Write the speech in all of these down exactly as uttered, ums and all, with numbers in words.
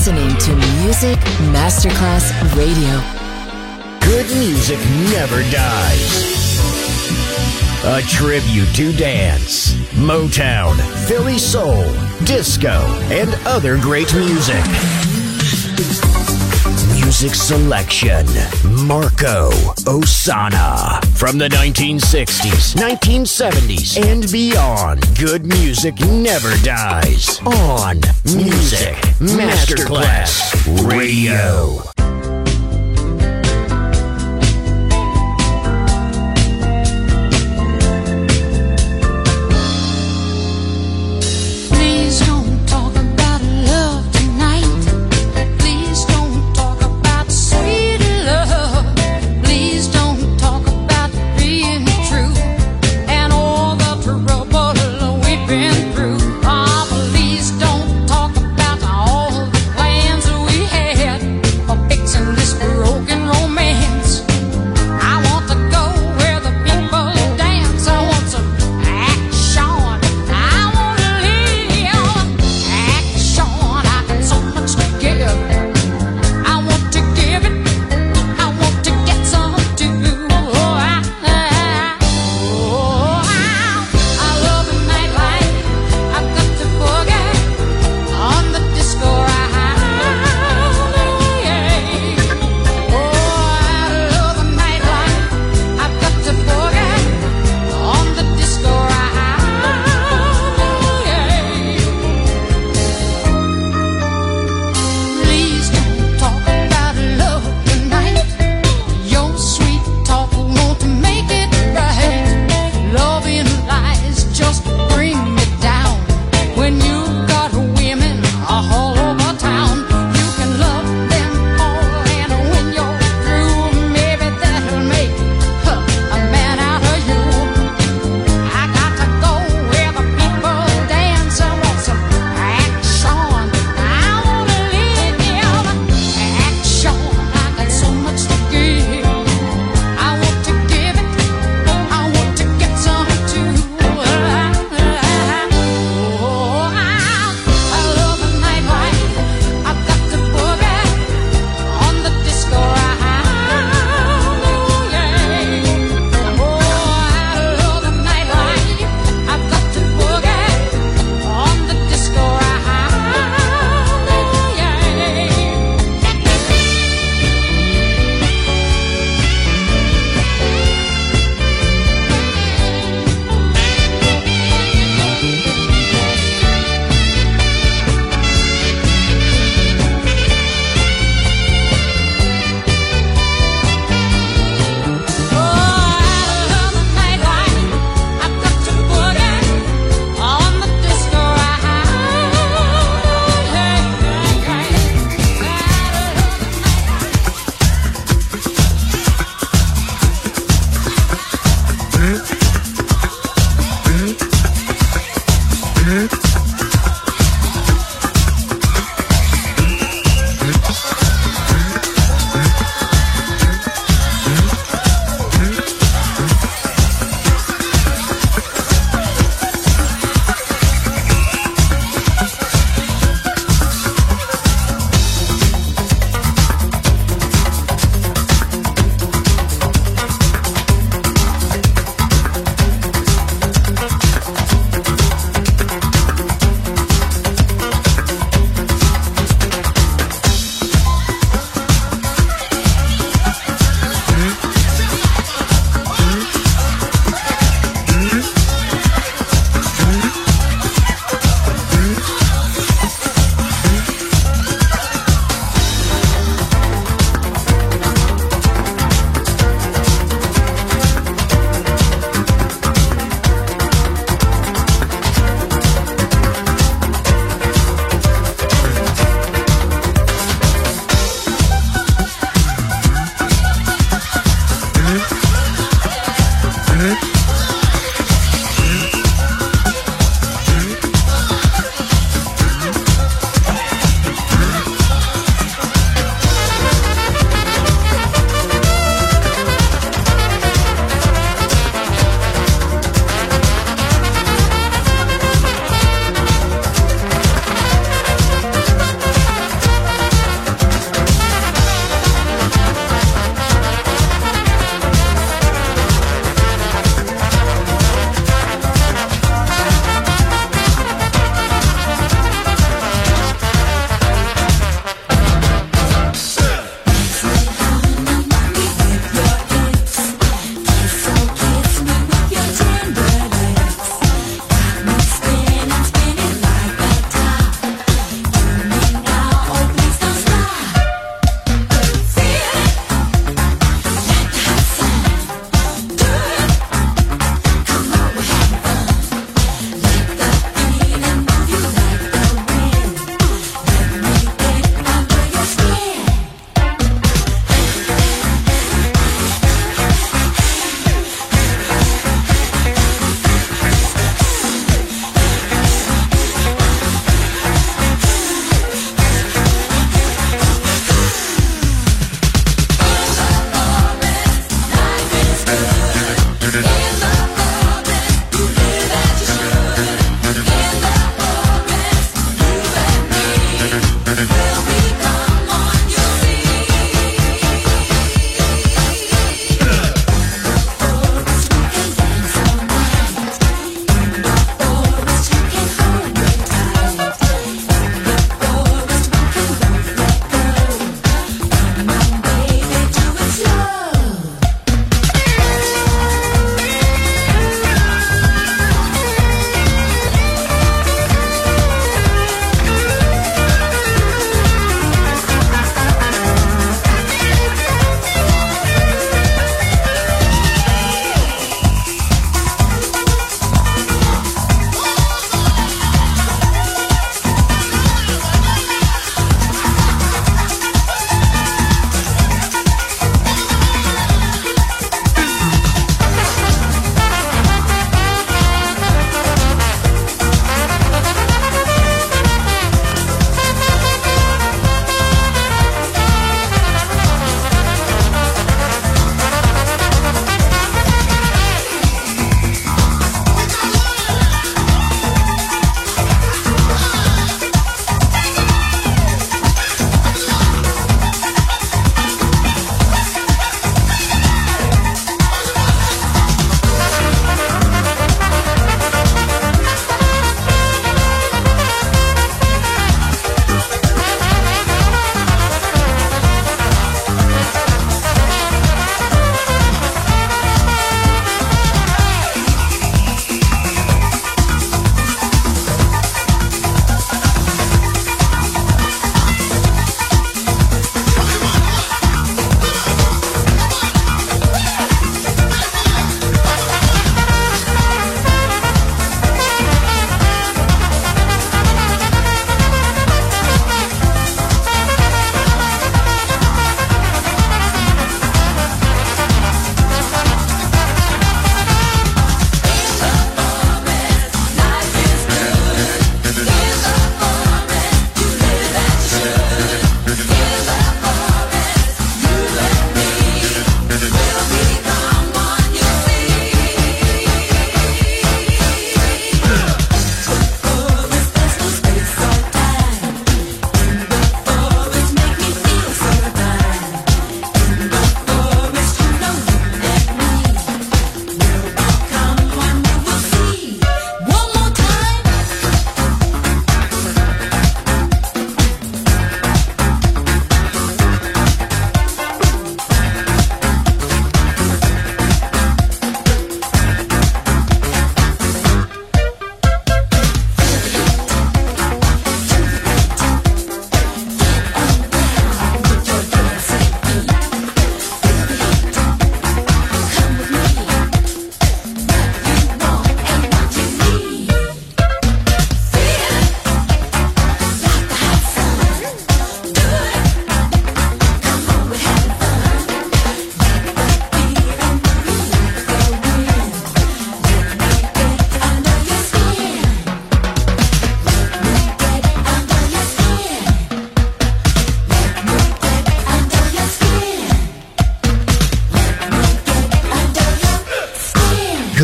listening to Music Masterclass Radio. Good music never dies. A tribute to dance, Motown, Philly soul, disco, and other great music. Music selection, Marco Ossanna. From the nineteen sixties, nineteen seventies, and beyond, good music never dies. On Music Masterclass Radio. Please don't talk about all the plans we had.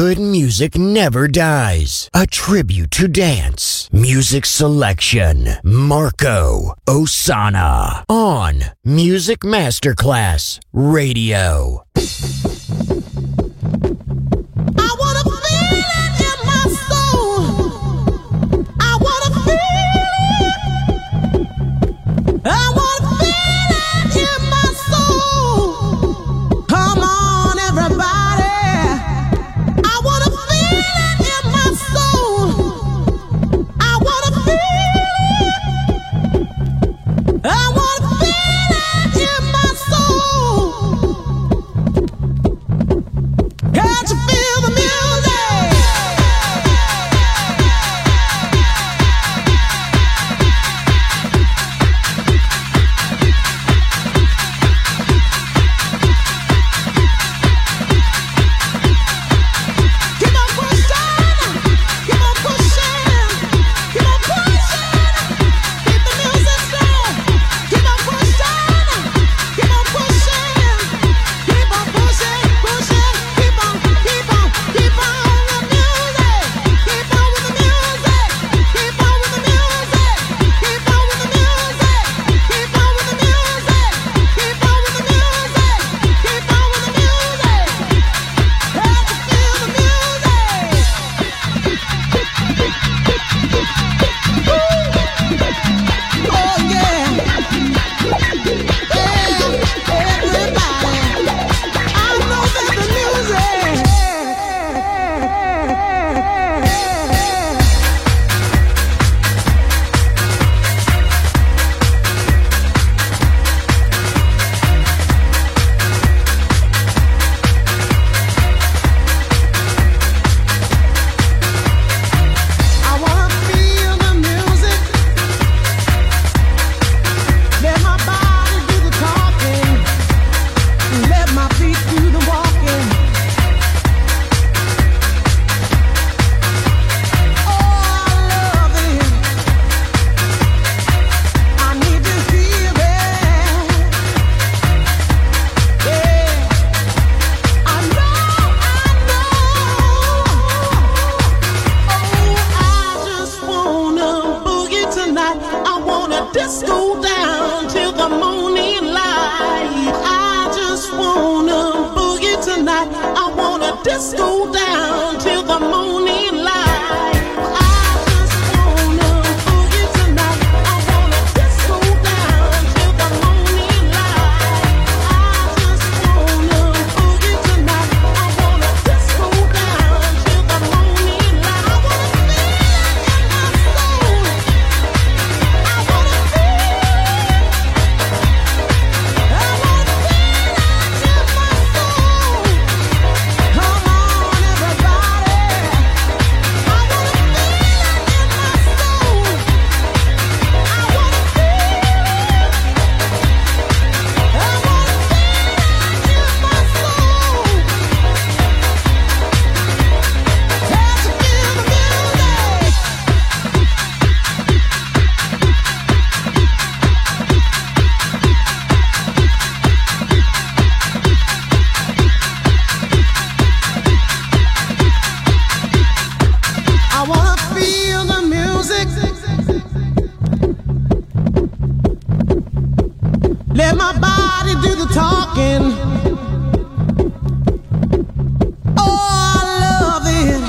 Good music never dies. A tribute to dance. Music selection. Marco Ossanna. On Music Masterclass Radio. I wanna feel it in my soul. I wanna feel it. I wanna feel it in my soul. Come on, everybody. I wanna feel it in my soul. I wanna feel it. I wanna feel it in my soul. Can't you feel the music? Keep on pushing, keep on pushing, keep on pushing. Keep the music strong. Keep on pushing, keep on pushing, keep on pushing, pushing. Keep on, keep on, keep on the music. Keep on with the music. Keep on with the music. Keep on with the music. Keep on with the music. Keep on with the music. Keep on with the music. Have to feel the music. Oh yeah, yeah, everybody. I know that the music. I wanna feel the music. Let my body do the talking. Let my feet do the walking. Oh, I love it. I need to hear it. Yeah. I know, I know. Oh, I just wanna boogie tonight. I wanna disco down till the morning light. I just wanna boogie tonight. I wanna disco down till the morning light. I just wanna boogie tonight. I wanna disco down till the morning light. I just wanna boogie tonight. I wanna disco down till the morning light. I wanna feel it in my soul. I wanna feel it. I wanna feel it in my soul. Come on, everybody. I wanna feel it in my soul. I wanna feel it. I wanna feel it in my soul. Can't you feel the music? I wanna feel the music. Let my body do the talking. Oh, I love it.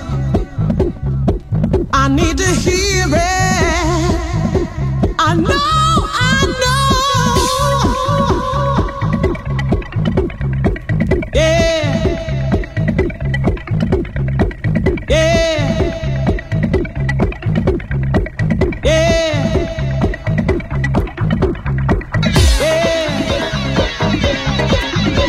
I need to hear it. I know, I know. Yeah. Yeah. Yeah. Yeah.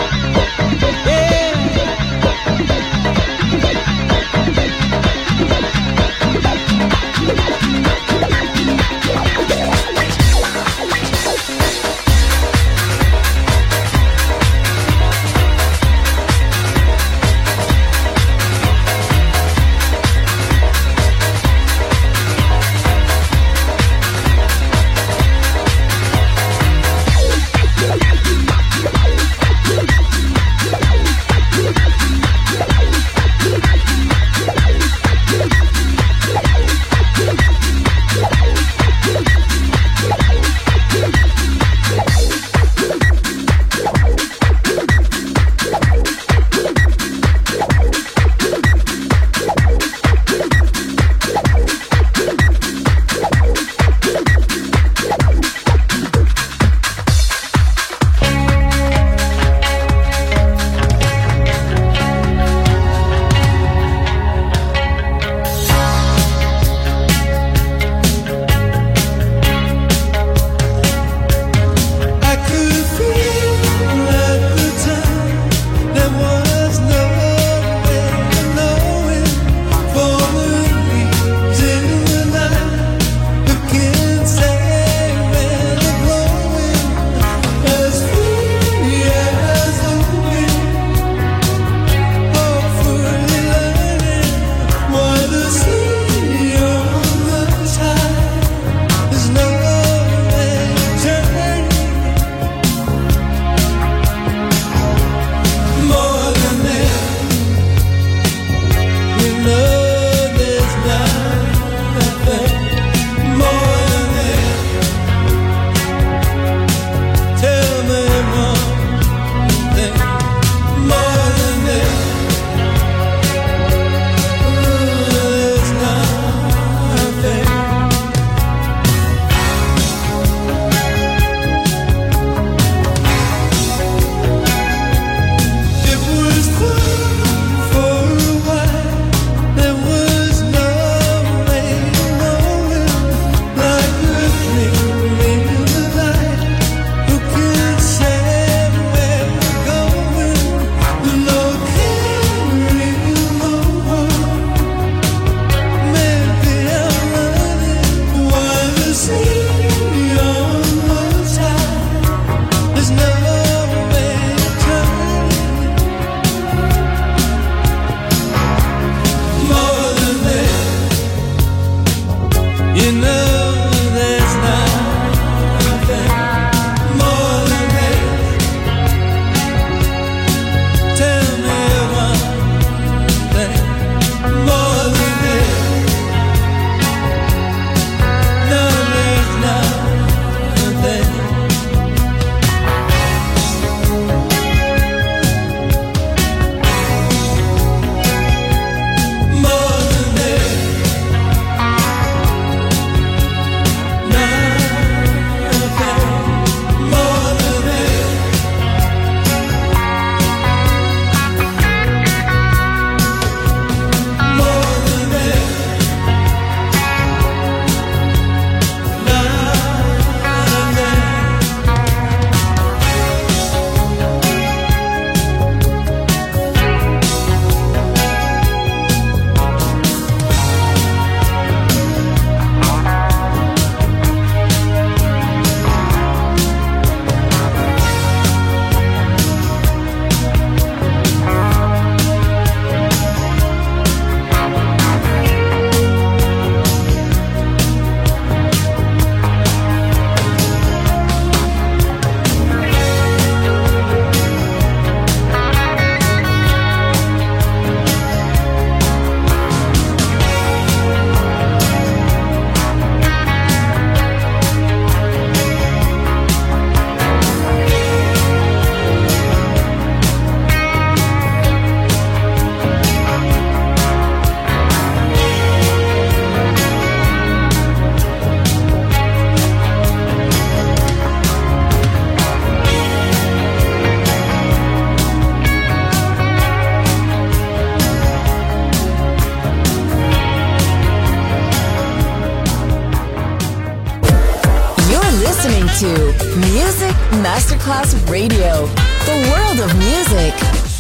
listening to Music Masterclass Radio, the world of music.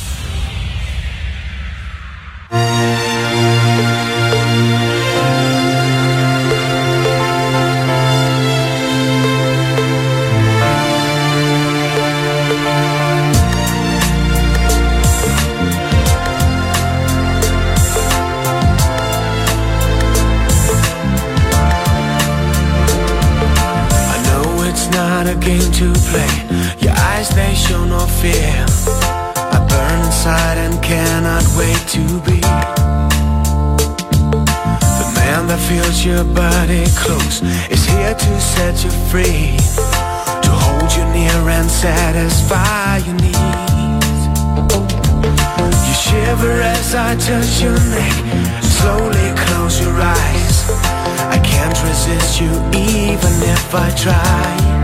A game to play. Your eyes, they show no fear. I burn inside and cannot wait to be the man that feels your body close, is here to set you free, to hold you near and satisfy your needs. You shiver as I touch your neck. Slowly close your eyes. I can't resist you even if I try.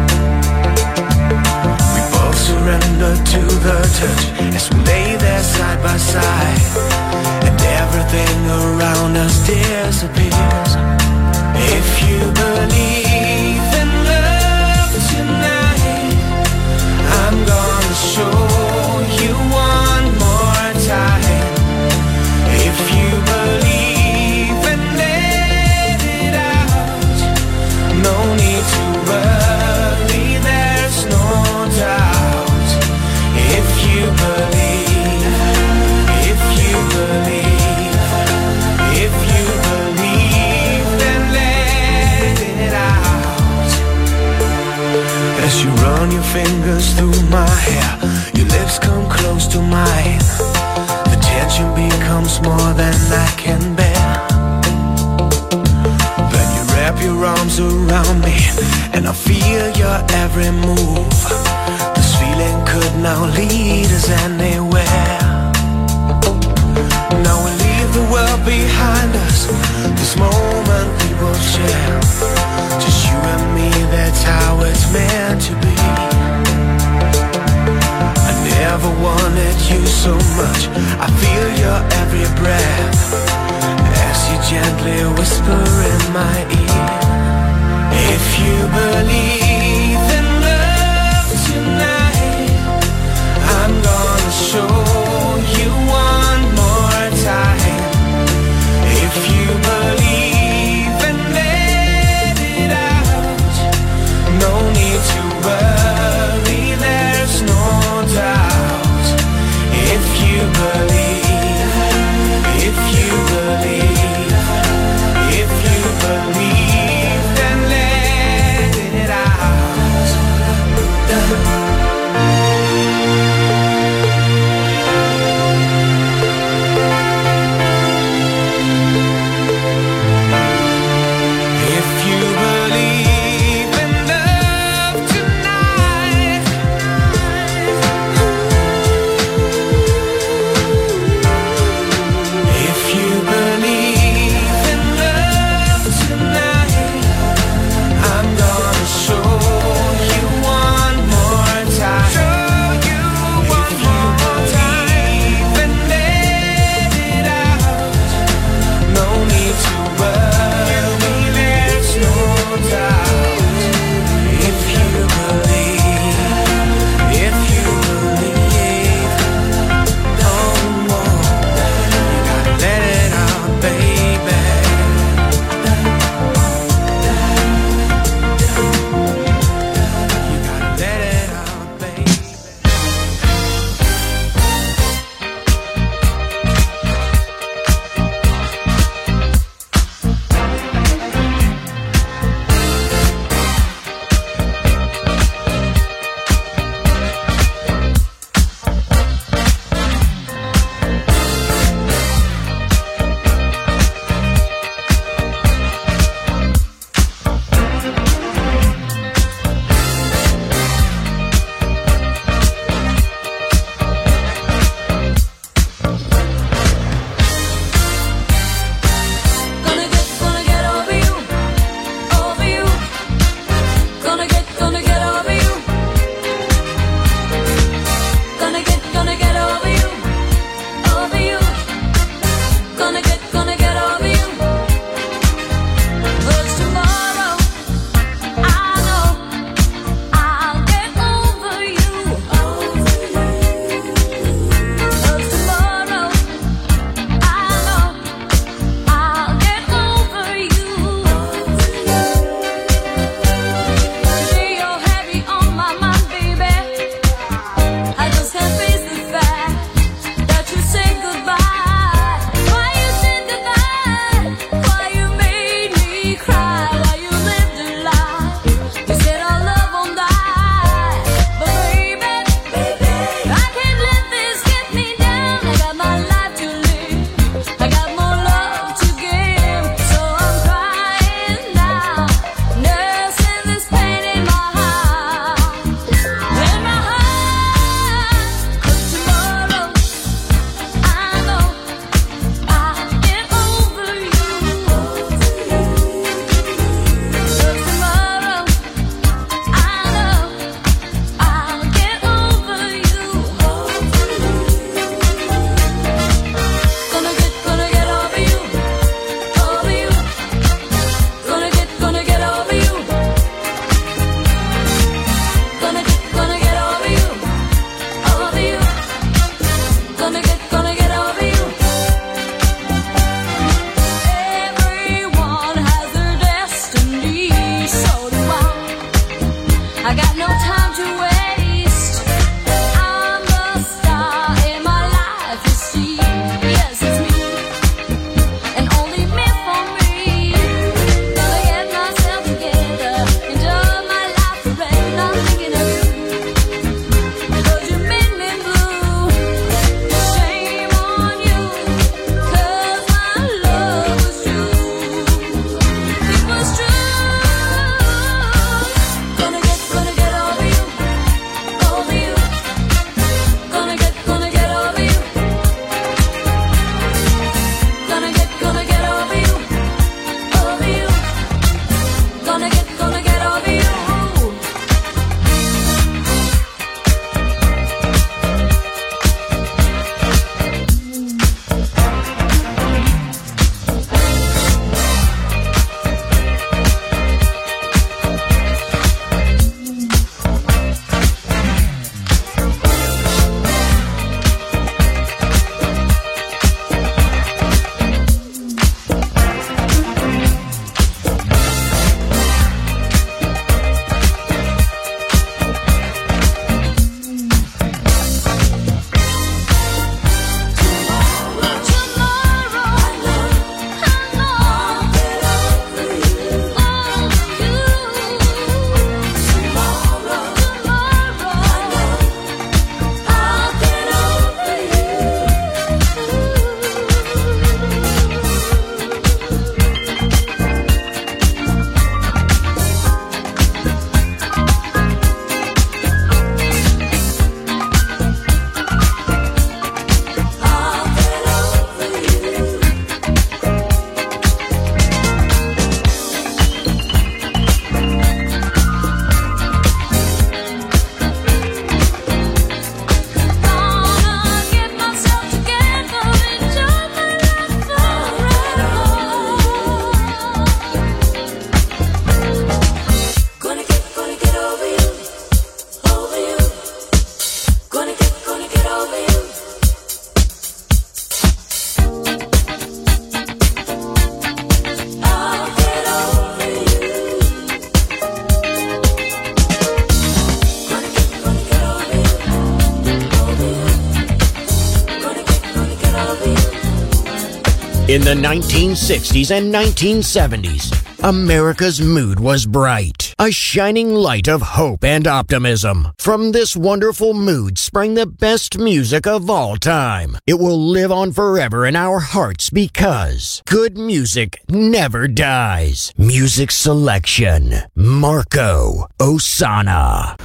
Surrender to the touch as we lay there side by side, and everything around us disappears. If you believe in love tonight, I'm gonna show you one more time. If you believe and let it out, no need to worry, there's no doubt. If you believe, if you believe, if you believe, then let it out. As you run your fingers through my hair, your lips come close to mine. The tension becomes more than I can bear. Then you wrap your arms around me, and I feel your every move. Feeling could now lead us anywhere. Now we leave the world behind us. This moment we will share. Just you and me, that's how it's meant to be. I never wanted you so much. I feel your every breath as you gently whisper in my ear. If you believe in love tonight, I'm gonna show you one more time. If you believe and let it out, no need to worry, there's no doubt. If you believe, if you believe, if you believe, then let it out. In the nineteen sixties and nineteen seventies, America's mood was bright, a shining light of hope and optimism. From this wonderful mood sprang the best music of all time. It will live on forever in our hearts because good music never dies. Music selection, Marco Ossanna.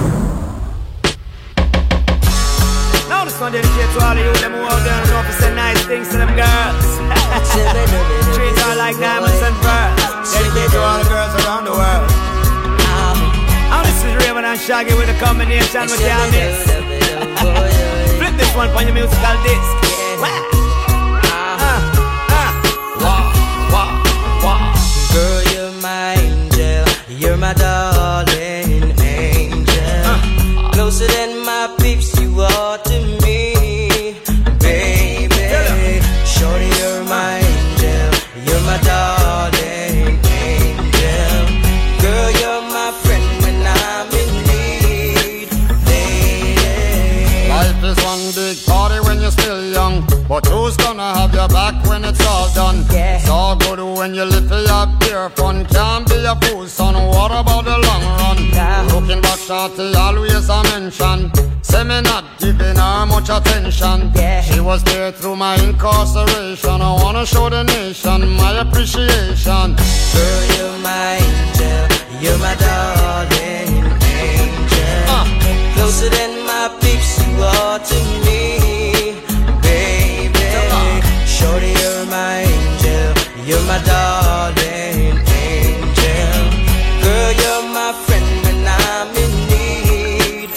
Now this one dedicated to all of you them who out there and know to say nice things to them girls. Treat her like diamonds and pearls. Dedicated to all the girls around the world. Now this is Raven and Shaggy with a combination with your mix. Flip this one on your musical disc. Girl, you're my angel, you're my darling angel. Closer than my peeps, you are to me, baby. Shorty, you're my angel, you're my darling angel. Girl, you're my friend when I'm in need, lady. Life is one big party when you're still young, but who's gonna have your back when it's all done? Yeah. It's all good when you live for your pure fun. Can't be a fool, son, what about the long run? Yeah. Looking back, shorty, always a mention. Say me not giving her much attention. Yeah. She was there through my incarceration. I wanna show the nation my appreciation. Girl, you're my angel, you're my darling angel. uh. Closer than my peeps, you are to me, baby. Shorty, you're my angel, you're my darling angel. Girl, you're my friend when I'm in need,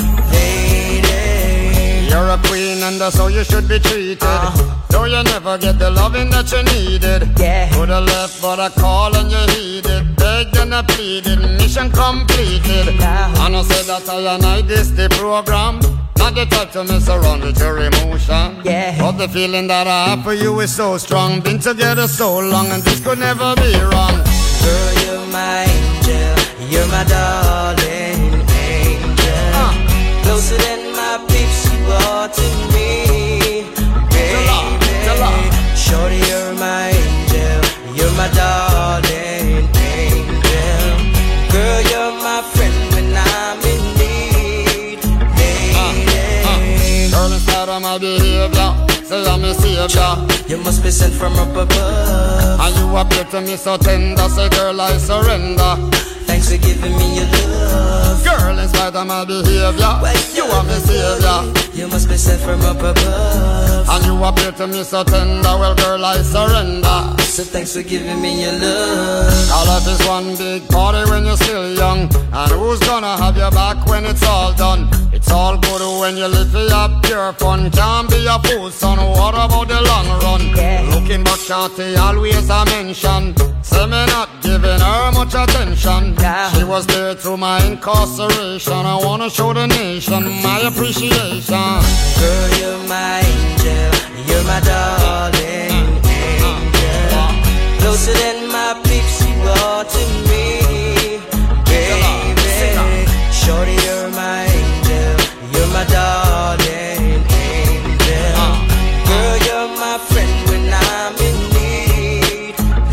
lady. You're a queen and that's how you should be treated. uh-huh. Though you never get the loving that you needed. Yeah. Could have left but I called and you heeded. Begged and I pleaded, mission completed. uh-huh. And I said that I and I this the program. Not the type to mess around with your emotion. Yeah. But the feeling that I have for you is so strong. Been together so long and this could never be wrong. Girl, you're my angel, you're my darling angel. uh. Closer than my peeps, you are to me, baby. Shorty, you're my angel, you're my darling angel. Girl, you're my friend when I'm in need, lady. uh, uh. Girl, instead of my behavior, say I'm a savior. You must be sent from up above, and you appear to me so tender. Say girl, I surrender. Thanks for giving me your love. Girl, in spite of my behavior, well, you are my savior. You must be sent from up above, and you appear to me so tender. Well, girl, I surrender. So thanks for giving me your love. Our life is one big party when you're still young, and who's gonna have your back when it's all done? It's all good when you live for your pure fun. Can't be a fool, son, what about the long run? Yeah. Looking back, shorty, always a mention. Say me not giving her much attention. Yeah. She was there through my incarceration. I wanna show the nation my appreciation. Girl, you're my angel, you're my darling angel. Closer than my peeps, you are to me, baby. Shorty, you're my angel, you're my darling angel. Girl, you're my friend when I'm in need,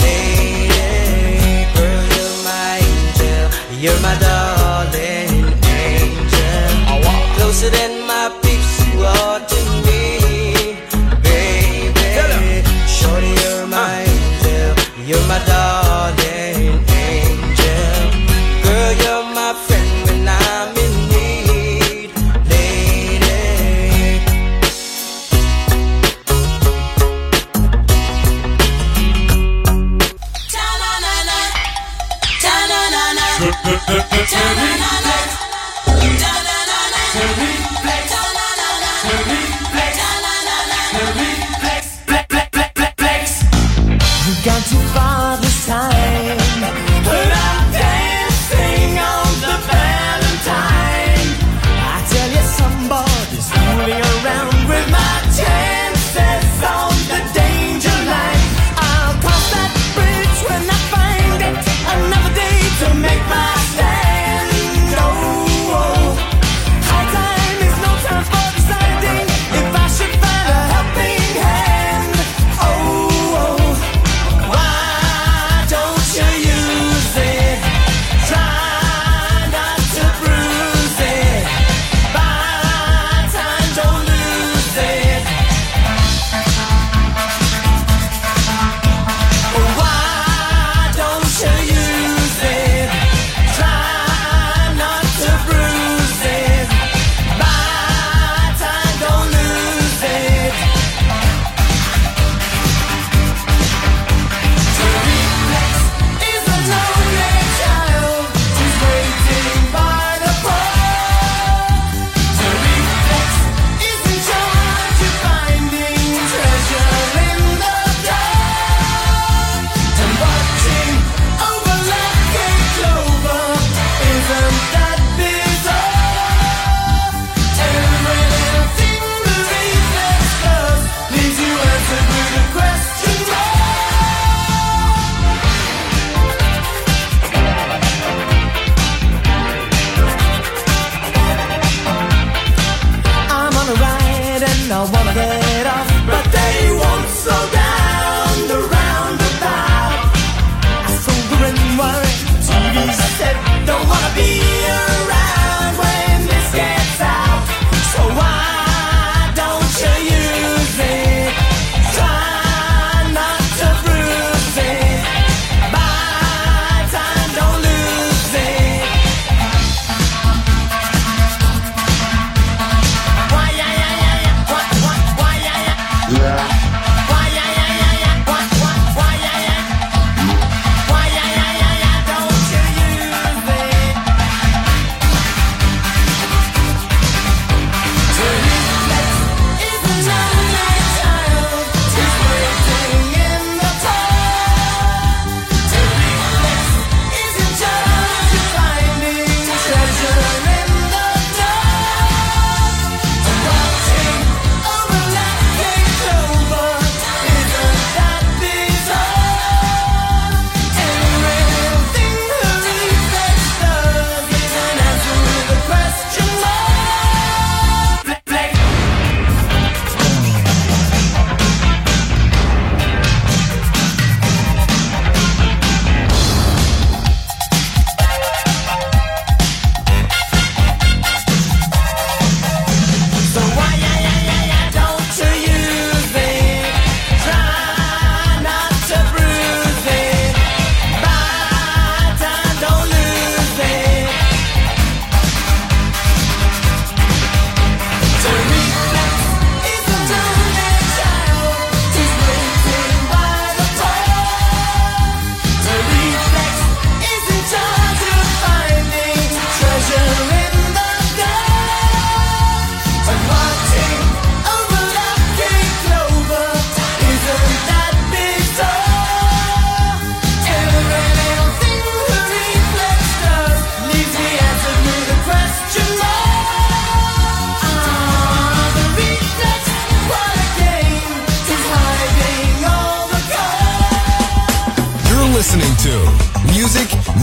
lady. Girl, you're my angel, you're my darling angel. Closer than my peeps, you are to me, baby. Shorty, you're my angel, you're my darling angel. Girl, you're my friend when I'm in need, lady. Ta-na-na-na, ta-na-na-na, ta-na-na-na, ta-na-na-na, ta-na-na-na, We've gone too far this time, but I'm dancing on the Valentine. I tell you, somebody's fooling around with my chances on the danger line. I'll cross that bridge when I find it. Another day to make my stand. Oh, oh. High time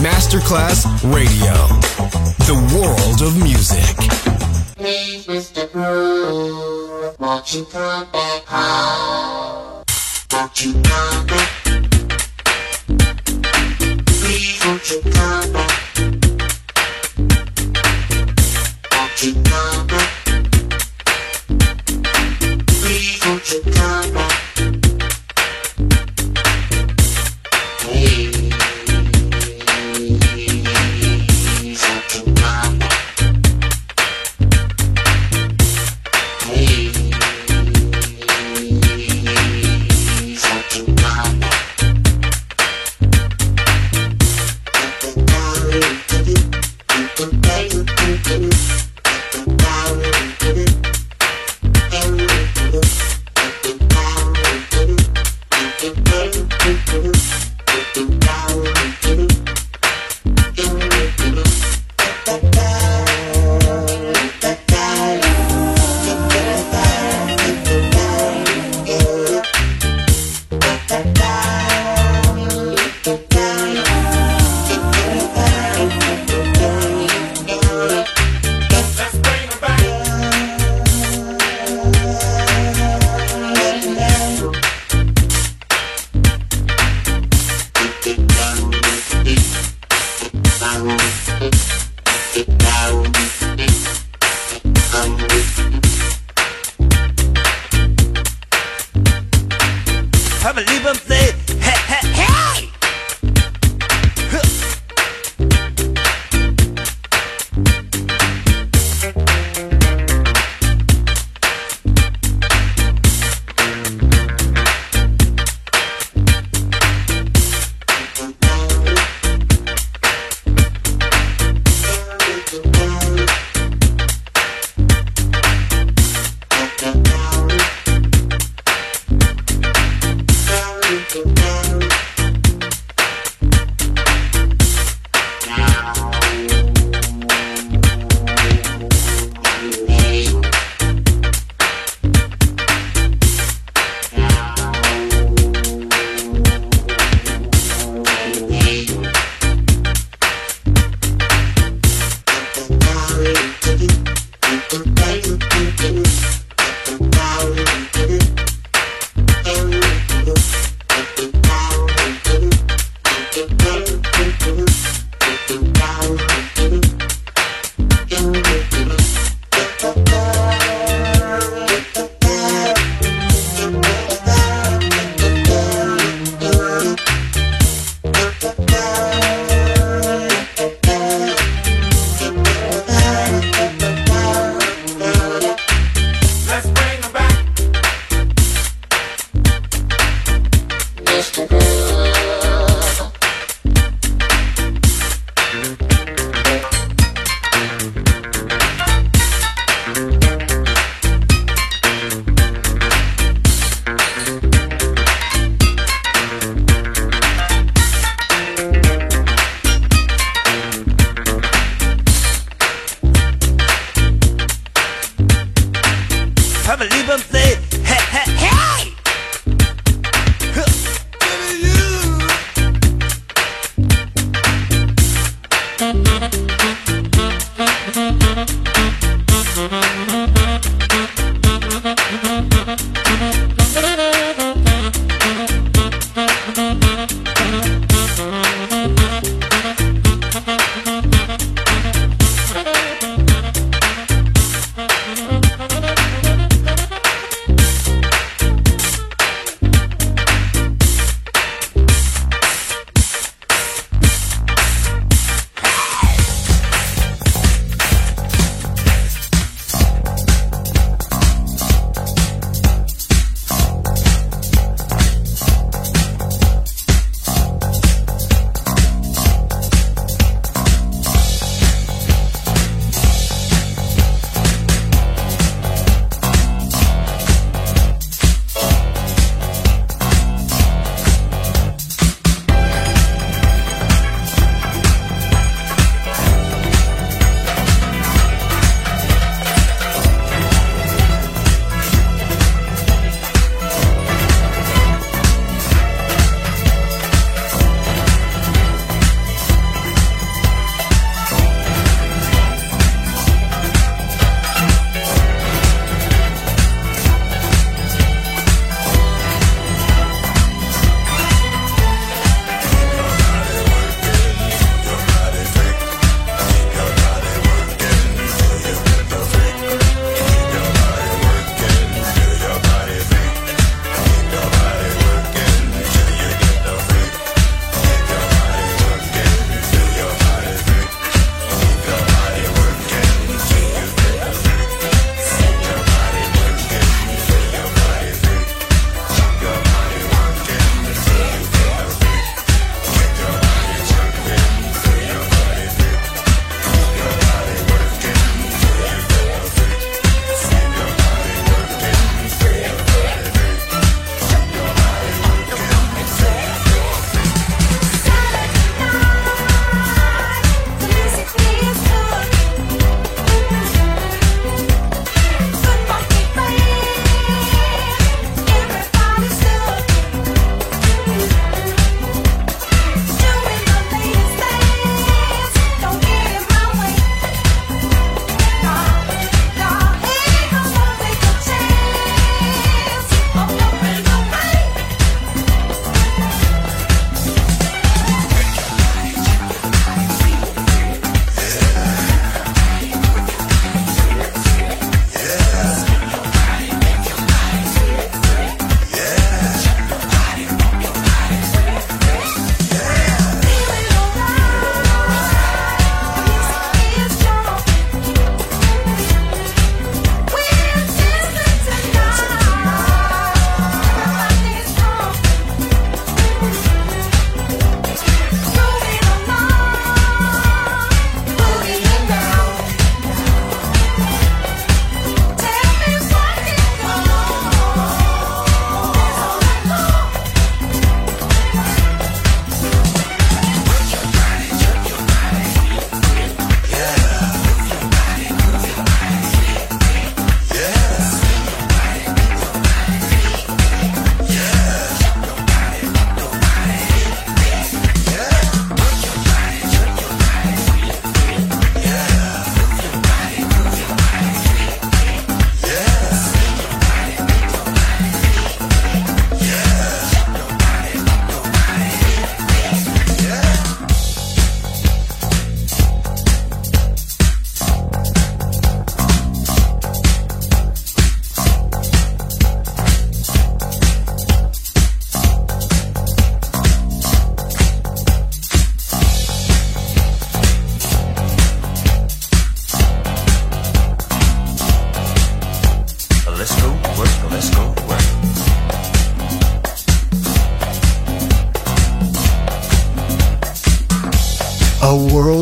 Masterclass Radio, the world of music. Please, Mister Groove, won't you come back home? Won't you come back? Please, won't you come back? Won't you come back? Please, won't you come back? Please.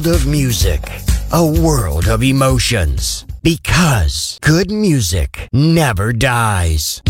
world of music, a world of emotions. Because good music never dies.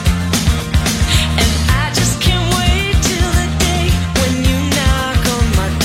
And I just can't wait till the day when you knock on my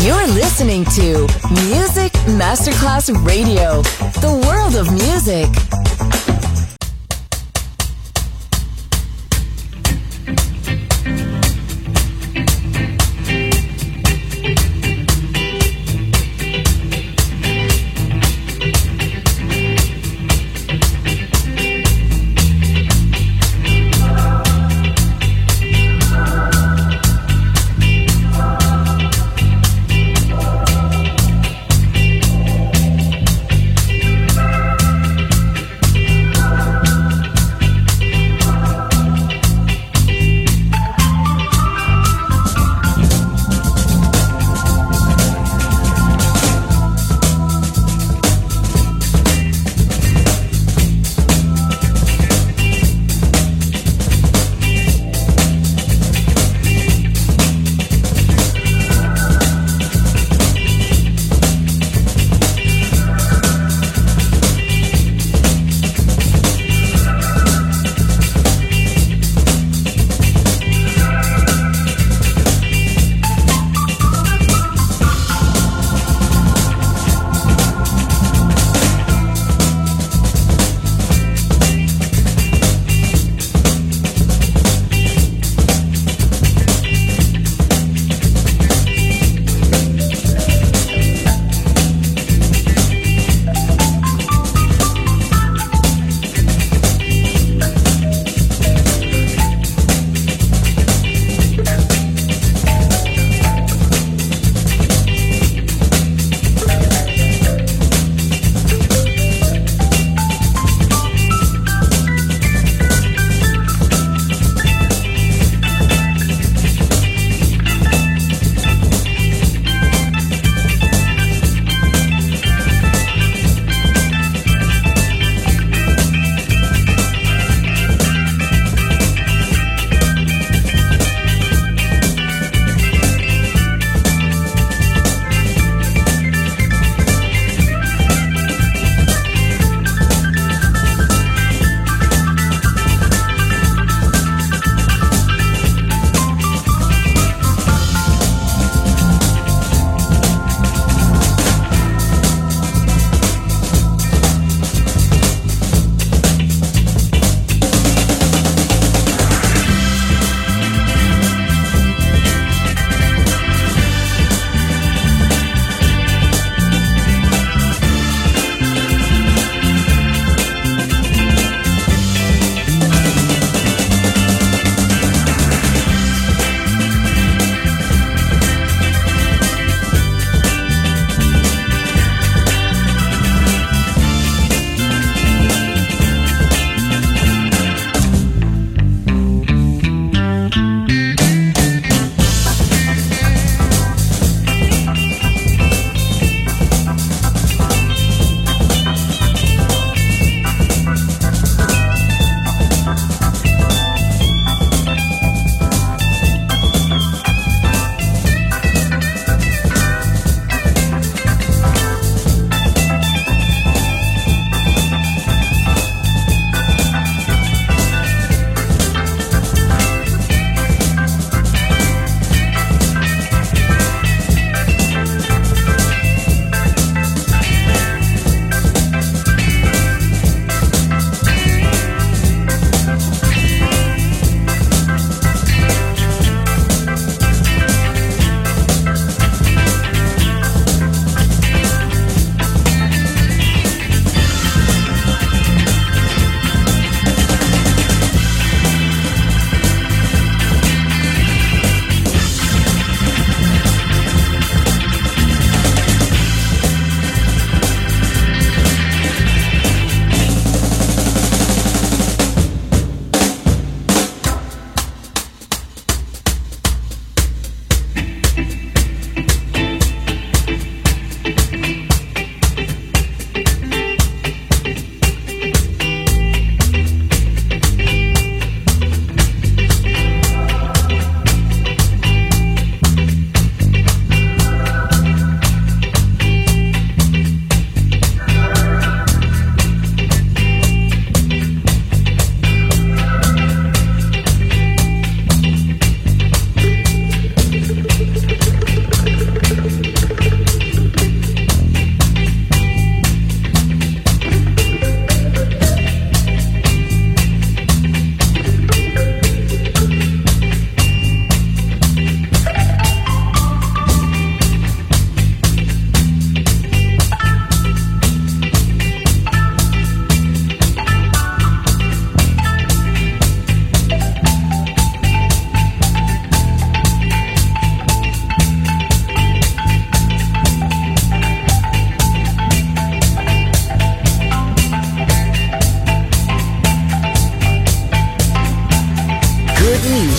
You're listening to Music Masterclass Radio, the world of music.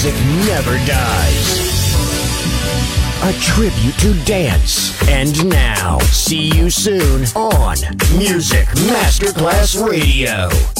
music never dies. A tribute to dance. And now, see you soon on Music Masterclass Radio.